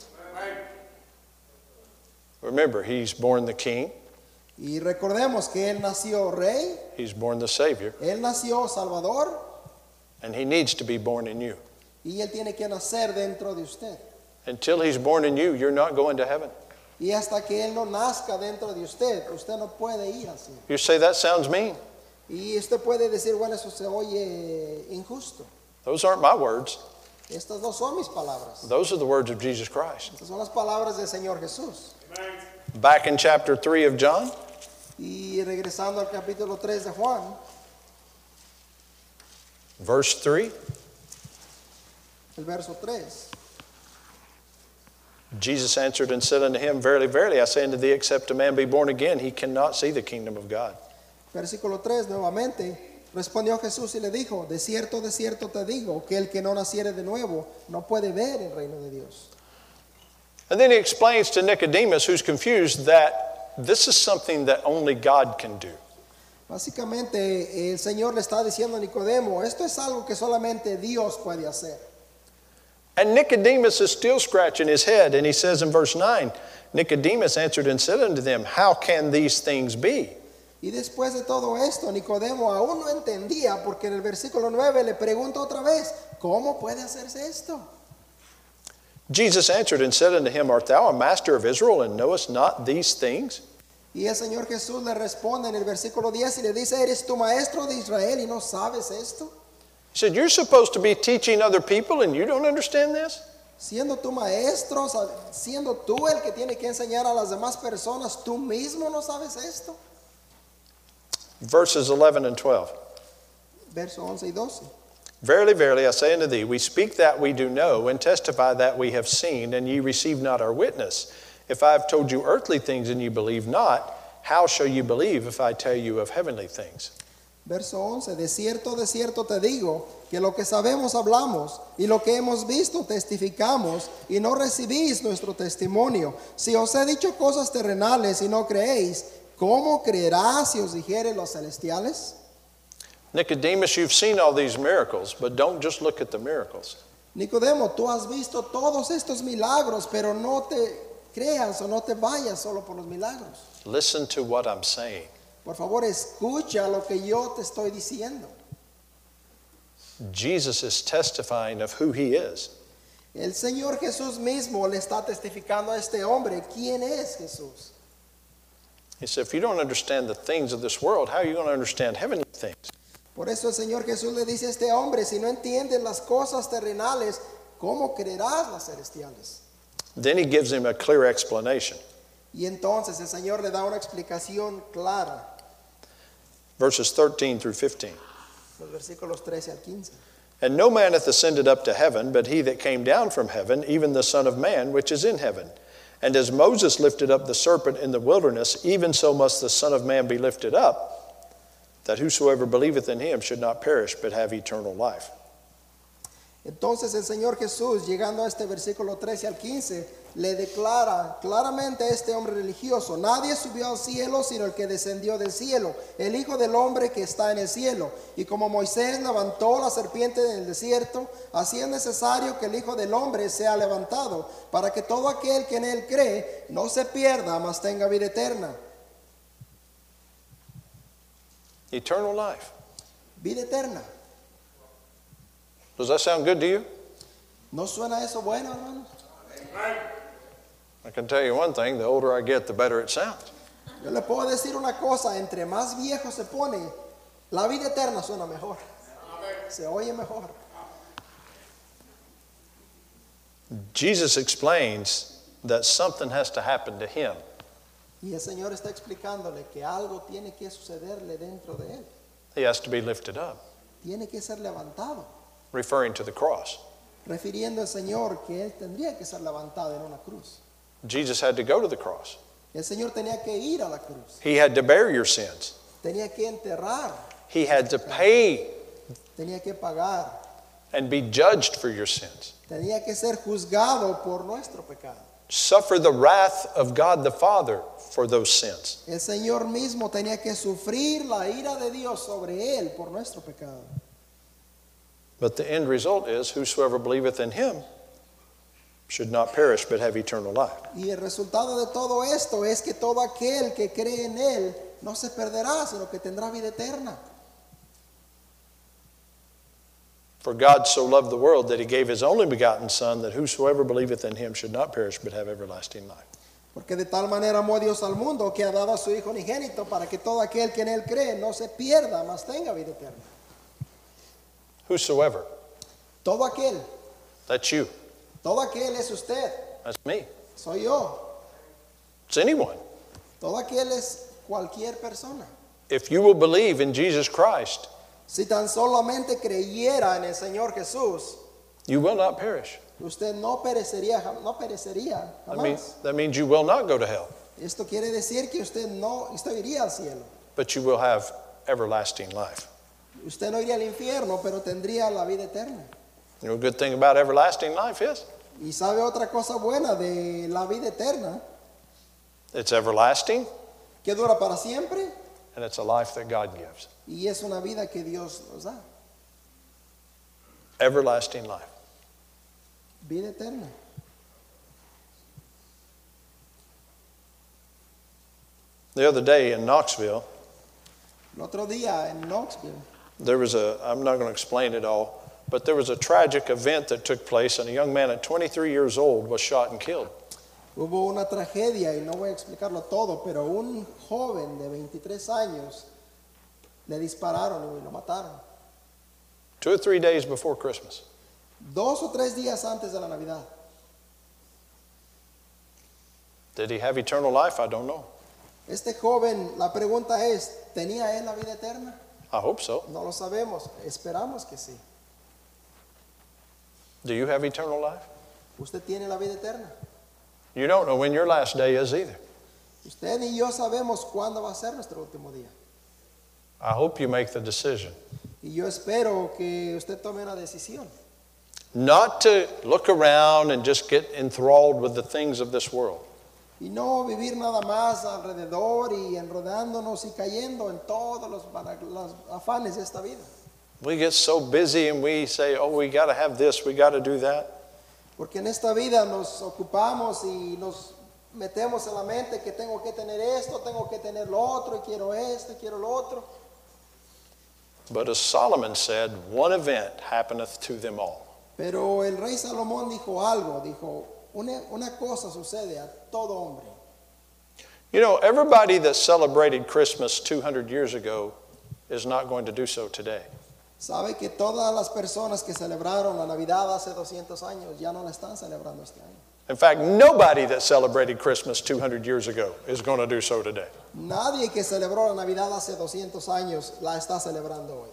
Remember, he's born the king. Y recordemos que Él nació rey, He's born the Savior. Él nació salvador And he needs to be born in you. y Él tiene que nacer dentro de usted. Until he's born in you, you're not going to heaven. Y hasta que Él no nazca dentro de usted, usted no puede ir así. You say, that sounds mean. Y usted puede decir, bueno, eso se oye injusto. Those aren't my words. Estas no son mis palabras. Those are the words of Jesus Christ. Estas son las palabras del Señor Jesús. Back in chapter three of John, Y regresando al capítulo tres de Juan, verse three, el verso tres. Jesus answered and said unto him, Verily, verily, I say unto thee, except a man be born again, he cannot see the kingdom of God. Versículo tres nuevamente. Respondió Jesús y le dijo, de cierto, de cierto te digo, que el que no naciere de nuevo no puede ver el reino de Dios. And then he explains to Nicodemus, who's confused, that this is something that only God can do. Básicamente el Señor le está diciendo a Nicodemo, esto es algo que solamente Dios puede hacer. And Nicodemus is still scratching his head, and he says in verse nine, Nicodemus answered and said unto them, How can these things be? Y después de todo esto, Nicodemo aún no entendía, porque en el versículo nueve le pregunta otra vez, ¿cómo puede hacerse esto? Jesus answered and said unto him, Art thou a master of Israel, and knowest not these things? Y el Señor Jesús le responde en el versículo diez y le dice, ¿eres tu maestro de Israel y no sabes esto? He said, You're supposed to be teaching other people, and you don't understand this? Siendo tu maestro, siendo tú el que tiene que enseñar a las demás personas, ¿tú mismo no sabes esto? Verses eleven and twelve. Verso once y doce. Verily, verily, I say unto thee, we speak that we do know, and testify that we have seen, and ye receive not our witness. If I have told you earthly things, and ye believe not, how shall you believe if I tell you of heavenly things? Verso once. De cierto, de cierto te digo, que lo que sabemos hablamos, y lo que hemos visto testificamos, y no recibís nuestro testimonio. Si os he dicho cosas terrenales y no creéis, ¿cómo creerás si os dijere los celestiales? Nicodemus, you've seen all these miracles, but don't just look at the miracles. Nicodemo, tú has visto todos estos milagros, pero no te creas o no te vayas solo por los milagros. Listen to what I'm saying. Por favor, escucha lo que yo te estoy diciendo. Jesus is testifying of who he is. El Señor Jesús mismo le está testificando a este hombre quién es Jesús. He said, if you don't understand the things of this world, how are you going to understand heavenly things? Por eso el Señor Jesús le dice a este hombre, si no entiendes las cosas terrenales, ¿cómo creerás las celestiales? Then he gives him a clear explanation. Y entonces el Señor le da una explicación clara. Verses thirteen through fifteen. Los versículos trece al quince. And no man hath ascended up to heaven, but he that came down from heaven, even the Son of Man, which is in heaven. And as Moses lifted up the serpent in the wilderness, even so must the Son of Man be lifted up, that whosoever believeth in him should not perish, but have eternal life. Entonces el Señor Jesús, llegando a este versículo trece al quince, le declara claramente a este hombre religioso, nadie subió al cielo sino el que descendió del cielo, el Hijo del Hombre que está en el cielo. Y como Moisés levantó la serpiente en el desierto, así es necesario que el Hijo del Hombre sea levantado, para que todo aquel que en él cree no se pierda, mas tenga vida eterna. Eternal life. Vida eterna. Does that sound good to you? ¿No suena eso bueno, hermanos? I can tell you one thing, the older I get, the better it sounds. Yo le puedo decir una cosa, entre más viejo se pone, la vida eterna suena mejor. Se oye mejor. Jesus explains that something has to happen to him Y el Señor está explicándole que algo tiene que sucederle dentro de él. He has to be lifted up, Tiene que ser levantado. referring to the cross. Refiriendo al Señor que él tendría que ser levantado en una cruz. Jesus had to go to the cross. El Señor tenía que ir a la cruz. He had to bear your sins. Tenía que enterrar. He had to pay Tenía que pagar. and be judged for your sins. Tenía que ser juzgado por nuestro pecado. Suffer the wrath of God the Father for those sins. El Señor mismo tenía que sufrir la ira de Dios sobre él por nuestro pecado. But the end result is, whosoever believeth in him should not perish but have eternal life. Y el resultado de todo esto es que todo aquel que cree en él no se perderá, sino que tendrá vida eterna. For God so loved the world that he gave his only begotten Son, that whosoever believeth in him should not perish but have everlasting life. Porque de tal manera amó Dios al mundo que ha dado a su Hijo unigénito para que todo aquel que en él cree no se pierda, mas tenga vida eterna. Whosoever. Todo aquel, That's you. todo aquel es usted, That's me. soy yo. It's anyone. Todo aquel es cualquier persona. If you will believe in Jesus Christ, Si tan solamente creyera en el Señor Jesús, you will not perish. usted no perecería, jam- no perecería That means, jamás. that means you will not go to hell, Esto quiere decir que usted no, usted iría al cielo. but you will have everlasting life. Usted no iría al infierno, pero tendría la vida eterna. You know, a good thing about everlasting life is Y sabe otra cosa buena de la vida eterna, it's everlasting, que dura para siempre, and it's a life that God gives. y es una vida que Dios nos da. Everlasting life. Vida eterna. The other day in Knoxville, El otro día en Knoxville, there was a, I'm not going to explain it all, but there was a tragic event that took place, and a young man at twenty-three years old was shot and killed. hubo una tragedia, y no voy a explicarlo todo, pero un joven de veintitrés años le dispararon y lo mataron. Two or three days before Christmas. Dos o tres días antes de la Navidad. Did he have eternal life? I don't know. Este joven, la pregunta es, ¿tenía él la vida eterna? I hope so. No lo sabemos, esperamos que sí. Do you have eternal life? ¿Usted tiene la vida eterna? You don't know when your last day is either. Usted ni yo sabemos cuándo va a ser nuestro último día. I hope you make the decision Y yo espero que usted tome una decisión. not to look around and just get enthralled with the things of this world. Y no vivir nada más alrededor y enredándonos y cayendo en todos los, los afanes de esta vida. We get so busy and we say, oh, we got to have this, we got to do that. Porque en esta vida nos ocupamos y nos metemos en la mente que tengo que tener esto, tengo que tener lo otro, y quiero esto, y quiero lo otro. But as Solomon said, one event happeneth to them all. Pero el rey Salomón dijo algo, dijo, una, una cosa sucede a todo hombre. You know, everybody that celebrated Christmas two hundred years ago is not going to do so today. Sabe que todas las personas que celebraron la Navidad hace doscientos años ya no la están celebrando este año. In fact, nobody that celebrated Christmas two hundred years ago is going to do so today. Nadie que celebró la Navidad hace doscientos años la está celebrando hoy.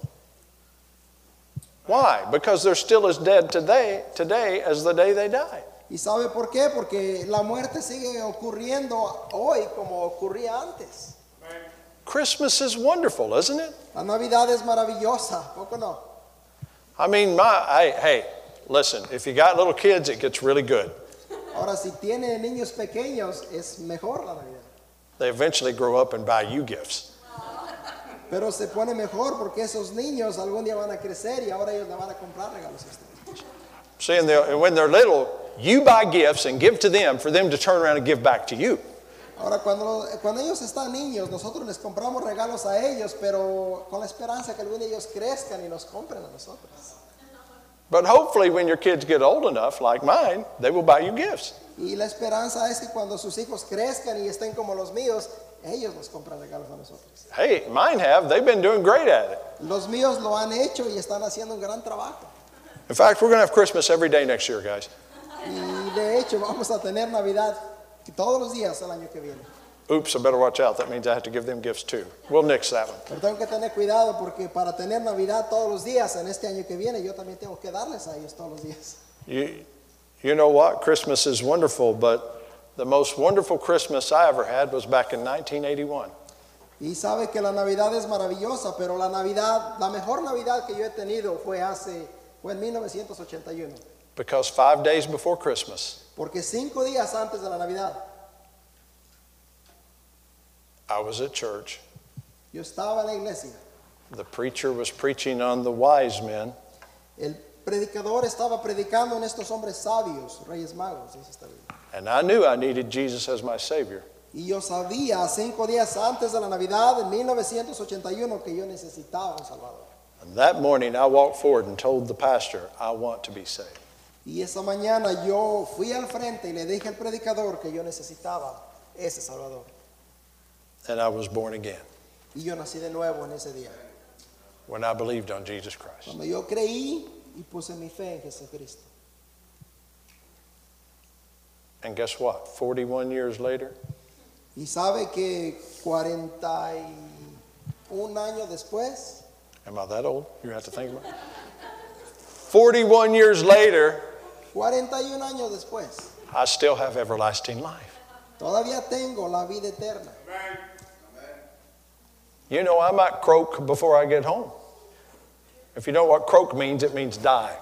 Why? Because they're still as dead today, today as the day they died. ¿Y sabe por qué? Porque la muerte sigue ocurriendo hoy como ocurría antes. Christmas is wonderful, isn't it? La Navidad es maravillosa, ¿poco no? I mean, my, I, hey, listen, if you got little kids, it gets really good. Ahora, si tiene niños pequeños, es mejor la Navidad. They eventually grow up and buy you gifts. Pero se pone mejor porque esos niños algún día van a crecer y ahora ellos le van a comprar regalos a usted. See, and they're- and when they're little, you buy gifts and give to them for them to turn around and give back to you. Ahora, cuando, cuando ellos están niños, nosotros les compramos regalos a ellos, pero con la esperanza que algún día ellos crezcan y nos compren a nosotros. But hopefully when your kids get old enough, like mine, they will buy you gifts. Y la esperanza es que cuando sus hijos crezcan y estén como los míos, ellos nos compran regalos a nosotros. Hey, mine have. They've been doing great at it. Los míos lo han hecho y están haciendo un gran trabajo. In fact, we're going to have Christmas every day next year, guys. Y de hecho vamos a tener Navidad todos los días el año que viene. Oops, I better watch out. That means I have to give them gifts too. We'll nix that one. Pero tengo que tener cuidado porque para tener Navidad todos los días en este año que viene, yo también tengo que darles a ellos todos los días. You, you know what? Christmas is wonderful, but the most wonderful Christmas I ever had was back in nineteen eighty-one. Y sabe que la Navidad es maravillosa, pero la Navidad, la mejor Navidad que yo he tenido fue hace, fue en mil novecientos ochenta y uno. Because five days before Christmas, Porque cinco días antes de la Navidad, I was at church. yo estaba en la iglesia. The preacher was preaching on the wise men, El predicador estaba predicando en estos hombres sabios, reyes magos, dice esta Biblia. and I knew I needed Jesus as my Savior. Y yo sabía cinco días antes de la Navidad en mil novecientos ochenta y uno que yo necesitaba un Salvador. And that morning I walked forward and told the pastor, I want to be saved. Y esa mañana yo fui al frente y le dije al predicador que yo necesitaba ese Salvador. And I was born again Y yo nací de nuevo en ese día. when I believed on Jesus Christ. Cuando yo creí y puse mi fe en Jesucristo. And guess what? forty-one years later, Y sabe que cuarenta y un años después, am I that old? You have to think about it. forty-one years later, cuarenta y un años después, I still have everlasting life. todavía tengo la vida eterna. You know, I might croak before I get home. If you know what croak means, it means die.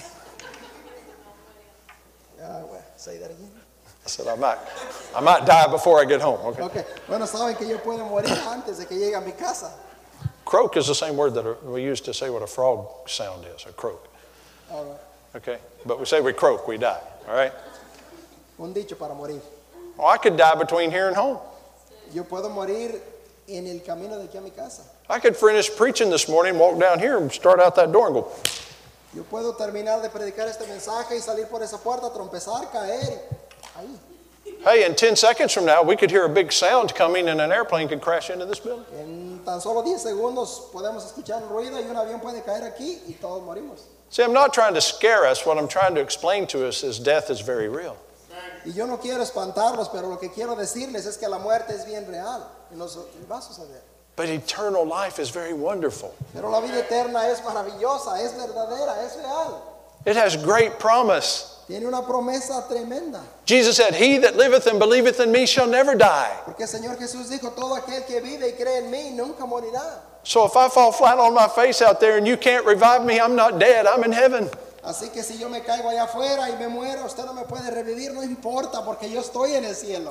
Ah, well, say that again. I said, I might, I might die before I get home. Okay. Okay. Bueno, saben que yo puedo morir antes de que llegue a mi casa. Croak is the same word that we use to say what a frog sound is, a croak. All right. Okay? But we say we croak, we die. All right? Un dicho para morir. Well, I could die between here and home. Yo puedo morir en el camino de aquí a mi casa. I could finish preaching this morning, walk down here and start out that door and go. Yo puedo terminar de predicar este mensaje y salir por esa puerta, trompezar, caer. Ahí. Hey, in ten seconds from now, we could hear a big sound coming and an airplane could crash into this building. En tan solo diez segundos podemos escuchar un ruido y un avión puede caer aquí y todos morimos. See, I'm not trying to scare us. What I'm trying to explain to us is death is very real. Y yo no quiero espantarlos, pero lo que quiero decirles es que la muerte es bien real y nos va a suceder. But eternal life is very wonderful. Pero la vida eterna es maravillosa, es verdadera, es real. It has great promise. Tiene una promesa tremenda. Jesus said, he that liveth and believeth in me shall never die. Porque el Señor Jesús dijo, todo aquel que vive y cree en mí nunca morirá. So if I fall flat on my face out there and you can't revive me, I'm not dead, I'm in heaven. Así que si yo me caigo allá afuera y me muero, usted no me puede revivir, no importa, porque yo estoy en el cielo.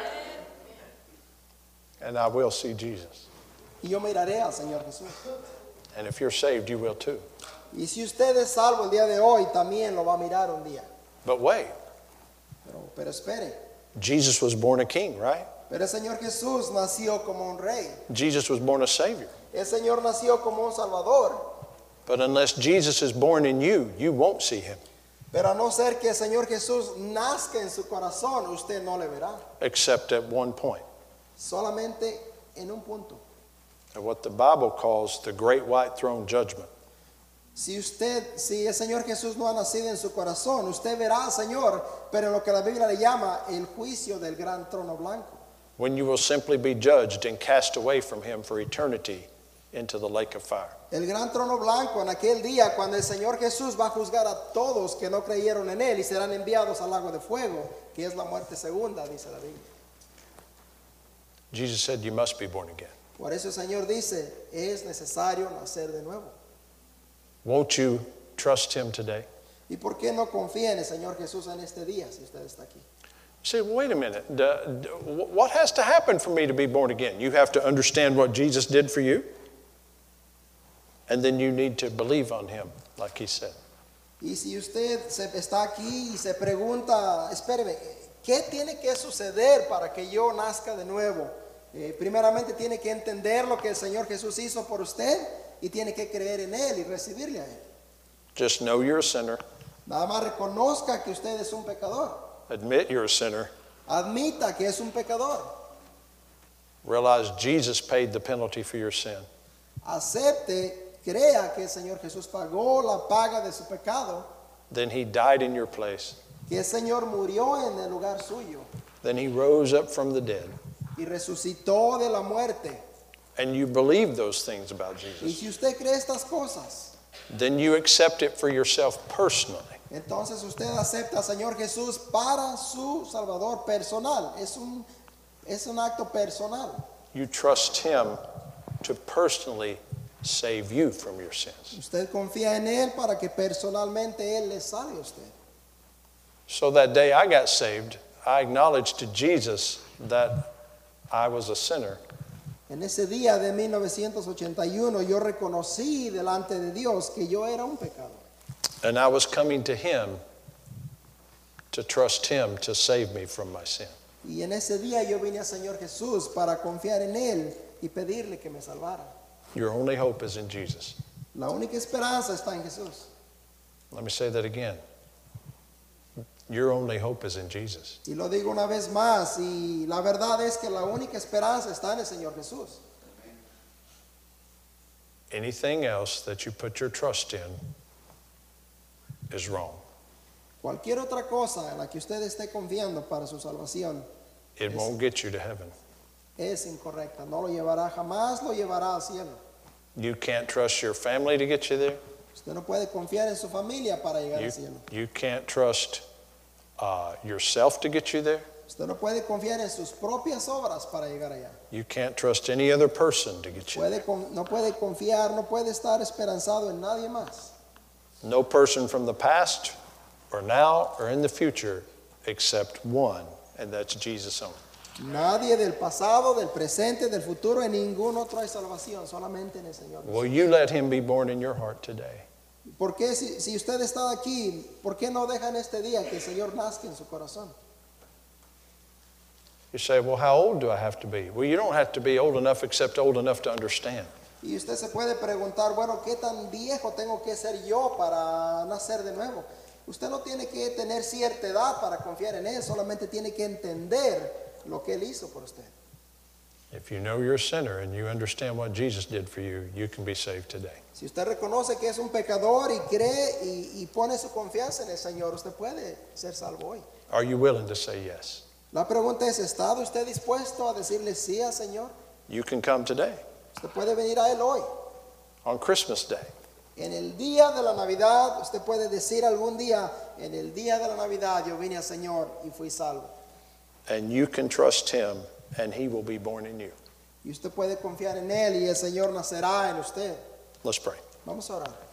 And I will see Jesus. Y yo miraré al Señor Jesús. And if you're saved, you will too. Y si usted es salvo el día de hoy, también lo va a mirar un día. But wait, Pero, pero espere. Jesus was born a king, right? Pero el Señor Jesús nació como un rey. Jesus was born a savior. El Señor nació como un salvador. But unless Jesus is born in you, you won't see him. Pero a no ser que el Señor Jesús nazca en su corazón, usted no le verá. Except at one point. Solamente en un punto. At what the Bible calls the great white throne judgment. Si usted, si el Señor Jesús no ha nacido en su corazón, usted verá al Señor, pero en lo que la Biblia le llama el juicio del gran trono blanco. When you will simply be judged and cast away from him for eternity into the lake of fire. El gran trono blanco en aquel día cuando el Señor Jesús va a juzgar a todos que no creyeron en él y serán enviados al lago de fuego, que es la muerte segunda, dice la Biblia. Jesus said, you must be born again. Por eso el Señor dice, es necesario nacer de nuevo. Won't you trust him today? ¿Y por qué no confía en el Señor Jesús en este día si usted está aquí? Say, wait a minute. D- d- what has to happen for me to be born again? You have to understand what Jesus did for you. And then you need to believe on him, like he said. Y si usted se, está aquí y se pregunta, espéreme, ¿qué tiene que suceder para que yo nazca de nuevo? Eh, primeramente tiene que entender lo que el Señor Jesús hizo por usted y tiene que creer en él y recibirle a él. Just know you're a sinner. Nada más reconozca que usted es un pecador. Admit you're a sinner. Admita que es un pecador. Realize Jesus paid the penalty for your sin. Acepte, crea que el Señor Jesús pagó la paga de su pecado. Then he died in your place. Que el Señor murió en el lugar suyo. Then he rose up from the dead. y resucitó de la muerte, and you believe those things about y Jesus, si usted cree estas cosas, then you accept it for yourself personally. entonces usted acepta al Señor Jesús para su Salvador personal. Es un, es un acto personal. You trust him to personally save you from your sins. Usted confía en Él para que personalmente Él le salve a usted. So that day I got saved, I acknowledged to Jesus that I was a sinner. En ese día de mil novecientos ochenta y uno yo reconocí delante de Dios que yo era un pecador. And I was coming to him to trust him to save me from my sin. Y en ese día yo vine al Señor Jesús para confiar en Él y pedirle que me salvara. Your only hope is in Jesus. La única esperanza está en Jesús. Let me say that again. Your only hope is in Jesus. Y lo digo una vez más, y la verdad es que la única esperanza está en el Señor Jesús. Anything else that you put your trust in is wrong. Cualquier otra cosa en la que usted esté confiando para su salvación It es, won't get you to heaven. es incorrecta. No lo llevará, jamás lo llevará al cielo. You can't trust your family to get you there. Usted no puede confiar en su familia para llegar You, al cielo. you can't trust uh, yourself to get you there. Usted no puede confiar en sus propias obras para llegar allá. You can't trust any other person to get you there. Puede, con- no puede confiar, no puede estar esperanzado en nadie más. No person from the past or now or in the future except one, and that's Jesus only. Nadie del pasado, del presente, del futuro, en ningún otro hay salvación, solamente en el Señor. Will you let him be born in your heart today? ¿Por qué si, si usted está aquí, por qué no dejan este día que el Señor nazca en su corazón? You say, well, how old do I have to be? Well, you don't have to be old enough except old enough to understand. Y usted se puede preguntar, bueno, ¿qué tan viejo tengo que ser yo para nacer de nuevo? Usted no tiene que tener cierta edad para confiar en Él, solamente tiene que entender lo que Él hizo por usted. If you know you're a sinner and you understand what Jesus did for you, you can be saved today. Si usted reconoce que es un pecador y cree y, y pone su confianza en el Señor, usted puede ser salvo hoy. Are you willing to say yes? La pregunta es, ¿está usted dispuesto a decirle sí al Señor? You can come today Usted puede venir a Él hoy. on Christmas Day. En el día de la Navidad, usted puede decir algún día, en el día de la Navidad yo vine al Señor y fui salvo. And you can trust him and he will be born in you. Y usted puede confiar en Él y el Señor nacerá en usted. Let's pray. Vamos a orar.